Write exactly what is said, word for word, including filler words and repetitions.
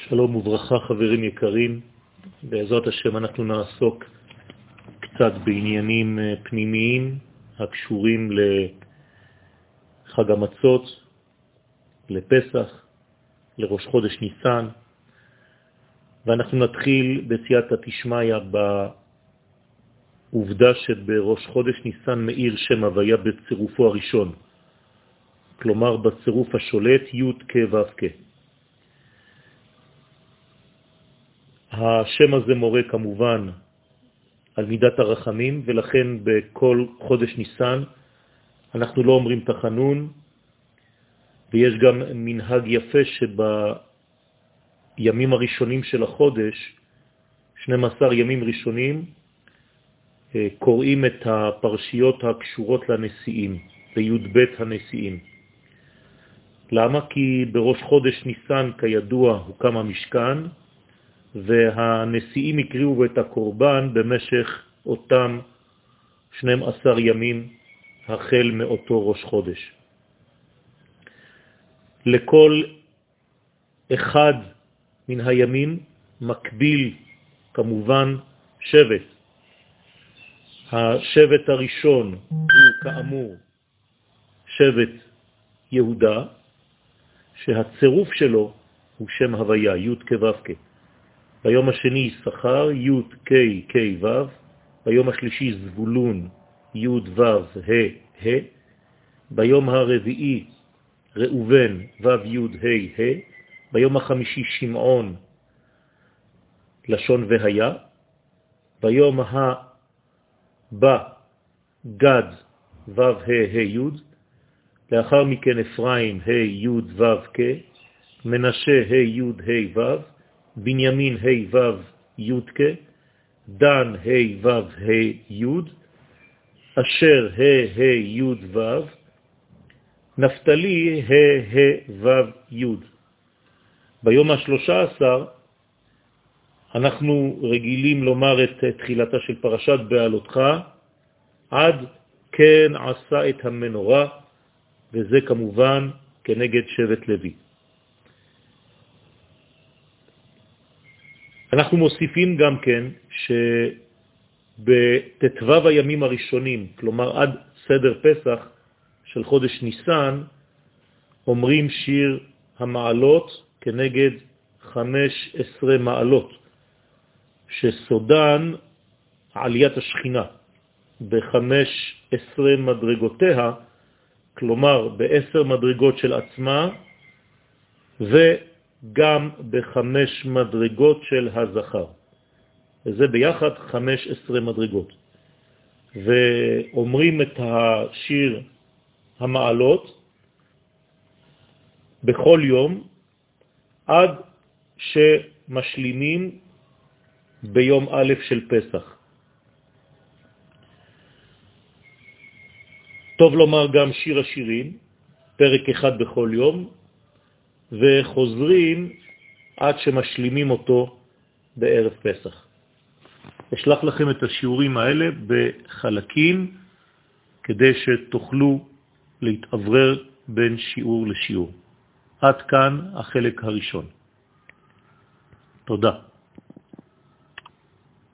שלום וברכה חברים יקרים, בעזרת השם אנחנו נעסוק קצת בעניינים פנימיים הקשורים לחג המצות, לפסח, לראש חודש ניסן, ואנחנו נתחיל בסייעתא דשמיא בעובדה שבראש חודש ניסן מאיר שם הוויה בצירופו הראשון, כלומר בצירוף השולט י' כ' ו' כ'. השם הזה מורה כמובן על מידת הרחמים, ולכן בכל חודש ניסן אנחנו לא אומרים תחנון, ויש גם מנהג יפה שבימים הראשונים של החודש, שנים עשר ימים ראשונים, קוראים את הפרשיות הקשורות לנשיאים, לי"ב הנשיאים. למה? כי בראש חודש ניסן כידוע הוקם המשכן, והנשיאים יקריאו את הקורבן במשך אותם שנים עשר ימים החל מאותו ראש חודש. לכל אחד מן הימים מקביל כמובן שבט. השבט הראשון הוא כאמור שבט יהודה, שהצירוף שלו הוא שם הוויה, י' כ' ו' כ'. ביום השני שכר, י' כ' כ' ו', ביום השלישי זבולון, י' ו' ה' ה', ביום הרביעי ראובן, ו' י' ה' ה', ביום החמישי שמעון, לשון והיה, ביום הבא גד, ו' ה' ה' י', לאחר מכן אפרים, ה' י' ו' כ', מנשה, ה' י' ה' ו', בנימין ה' ו' י' כ', דן ה' ו' ה' י', אשר ה' ה' י' ו', נפתלי ה' ה' ו' י'. ביום השלושה עשר אנחנו רגילים לומר את תחילתה של פרשת בעלותך, עד כן עשה את המנורה, וזה כמובן כנגד שבט לוי. אנחנו מוסיפים גם כן שבתתוו הימים הראשונים, כלומר עד סדר פסח של חודש ניסן, אומרים שיר המעלות כנגד חמש עשרה מעלות, שסודן עליית השכינה בחמש עשרה מדרגותיה, כלומר בעשר מדרגות של עצמה, וגם בחמש מדרגות של הזכר. וזה ביחד חמש עשרה מדרגות. ואומרים את השיר המעלות בכל יום, עד שמשלימים ביום א' של פסח. טוב לומר גם שיר השירים, פרק אחד בכל יום, וחוזרים עד שמשלימים אותו בערב פסח. אשלח לכם את השיעורים האלה בחלקים, כדי שתוכלו להתעברר בין שיעור לשיעור. עד כאן החלק הראשון. תודה.